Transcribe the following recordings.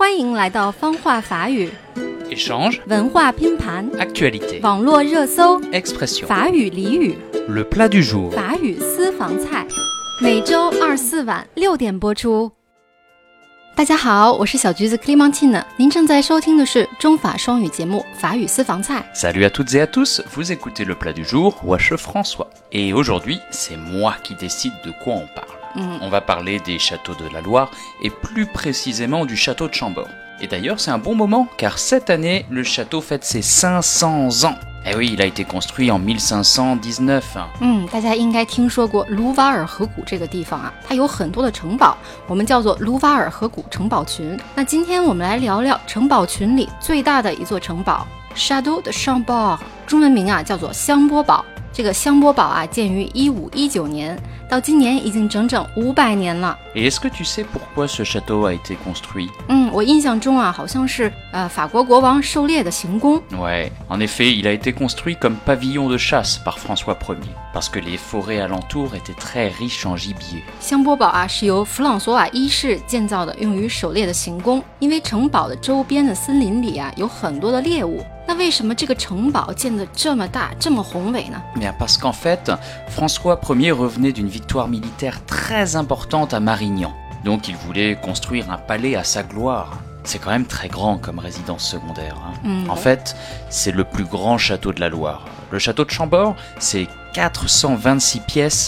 欢迎来到方话法语 Échange, 文化拼盘 actualité, 网络热搜 expression, 法语俚语 le plat du jour. 法语私房菜，每周24晚6点播出。大家好，我是小橘子 Clémentine， 您正在收听的是中法双语节目法语私房菜。 Salut à toutes et à tous, vous écoutez le plat du jour, Wesh François. Et aujourd'hui, c'est moi qui décide de quoi on parle. On va parler des châteaux de la Loire et plus précisément du château de Chambord. Et d'ailleurs, c'est un bon moment car cette année, le château fête ses 500 ans. Eh oui, il a été construit en 1519. 大家应该听说过卢瓦尔河谷这个地方啊，它有很多的城堡，我们叫做卢瓦尔河谷城堡群。那今天我们来聊聊城堡群里最大的一座城堡 Château de Chambord， 中文名啊叫做香波堡。这个香波堡啊，建于1519年，到今年已经整整500年了。 Et est-ce que tu sais pourquoi ce château a été construit? 我印象中啊，好像是法国国王狩猎的行宫。 Ouais, en effet, il a été construit comme pavillon de chasse par François Ier, parce que les forêts alentours étaient très riches en gibier. 香波堡啊，是由弗朗索瓦一世建造的，用于狩猎的行宫。因为城堡的周边的森林里啊，有很多的猎物。那为什么这个城堡建得这么大，这么宏伟呢？ Bien, parce qu'en fait, François Ier revenait d'une victoire militaire très importante à Marignan. Donc il voulait construire un palais à sa gloire. C'est quand même très grand comme résidence secondaire. En fait, c'est le plus grand château de la Loire. Le château de Chambord, c'est 426 pièces,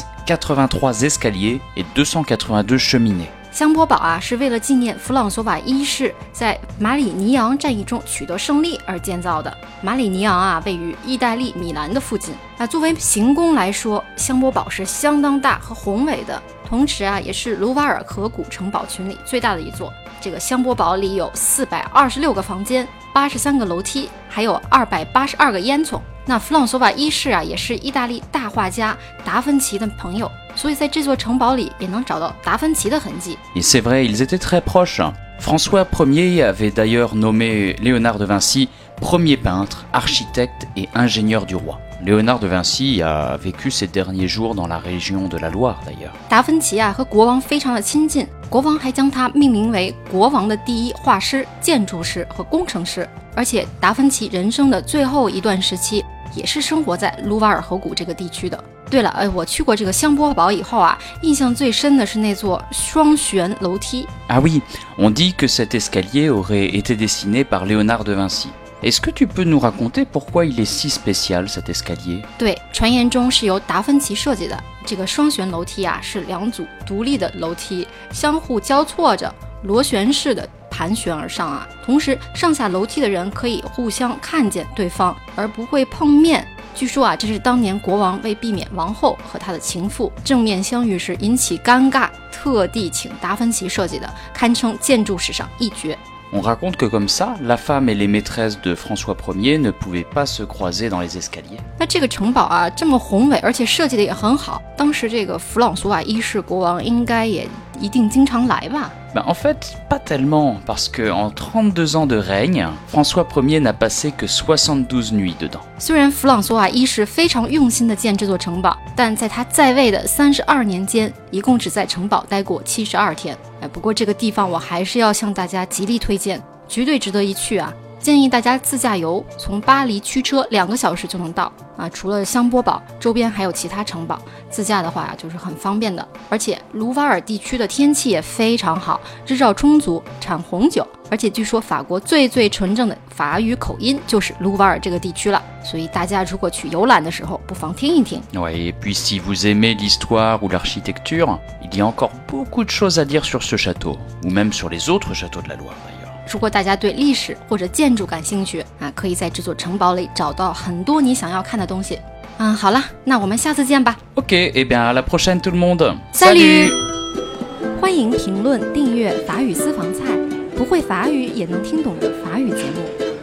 83 escaliers et 282 cheminées. 香波堡啊，是为了纪念弗朗索瓦一世在马里尼昂战役中取得胜利而建造的。马里尼昂啊，位于意大利米兰的附近。作为行宫来说，香波堡是相当大和宏伟的，同时啊，也是卢瓦尔河谷城堡群里最大的一座。这个香波堡里有426个房间，83个楼梯，还有282个烟囱。那弗朗索瓦一世啊，也是意大利大画家达芬奇的朋友，所以在这座城堡里也能找到达芬奇的痕迹。 Et c'est vrai, ils étaient très proches. François Ier avait d'ailleurs nommé Léonard de Vinci premier peintre, architecte et ingénieur du roi. Léonard de Vinci a vécu ses derniers jours dans la région de la Loire d'ailleurs. 达芬奇啊和国王非常的亲近，国王还将他命名为国王的第一画师、建筑师和工程师。而且达芬奇人生的最后一段时期也是生活在卢瓦尔河谷这个地区的。对了，我去过这个香波堡以后啊，印象最深的是那座双旋楼梯。 Ah oui, on dit que cet escalier aurait été dessiné par Léonard de Vinci. Est-ce que tu peux nous raconter pourquoi il est si spécial cet escalier? 对，传言中是由达芬奇设计的。这个双旋楼梯啊，是2组独立的楼梯，相互交错着，螺旋式的盘旋而上啊。同时，上下楼梯的人可以互相看见对方，而不会碰面。据说啊，这是当年国王为避免王后和他的情妇正面相遇时引起尴尬，特地请达芬奇设计的，堪称建筑史上一绝。 On raconte que comme ça, la femme et les maîtresses de François Ier ne pouvaient pas se croiser dans les escaliers. 那这个城堡啊，这么宏伟，而且设计的也很好，当时这个弗朗索瓦一世国王应该也一定经常来吧？ Ben, en fait, pas tellement, parce qu'en 32 ans de règne, François Ier n'a passé que 72 nuits dedans. 虽然弗朗索瓦一世非常用心地建这座城堡，但在他在位的32年间，一共只在城堡待过72天。不过这个地方我还是要向大家极力推荐，绝对值得一去啊！建议大家自驾游，从巴黎驱车2个小时就能到啊。除了香波堡，周边还有其他城堡，自驾的话就是很方便的。而且卢瓦尔地区的天气也非常好，日照充足，产红酒。而且据说法国最纯正的法语口音就是卢瓦尔这个地区了，所以大家如果去游览的时候，不妨听一听。 Ouais, et puis si vous aimez l'histoire ou l'architecture, il y a encore beaucoup de choses à dire sur ce château, ou même sur les autres châteaux de la Loire d'ailleurs. 如果大家对历史或者建筑感兴趣啊，可以在这座城堡里找到很多你想要看的东西。好了，那我们下次见吧。 Ok, et bien à la prochaine tout le monde. Salut 欢迎评论、订阅法语私房菜，不会法语也能听懂的法语节目。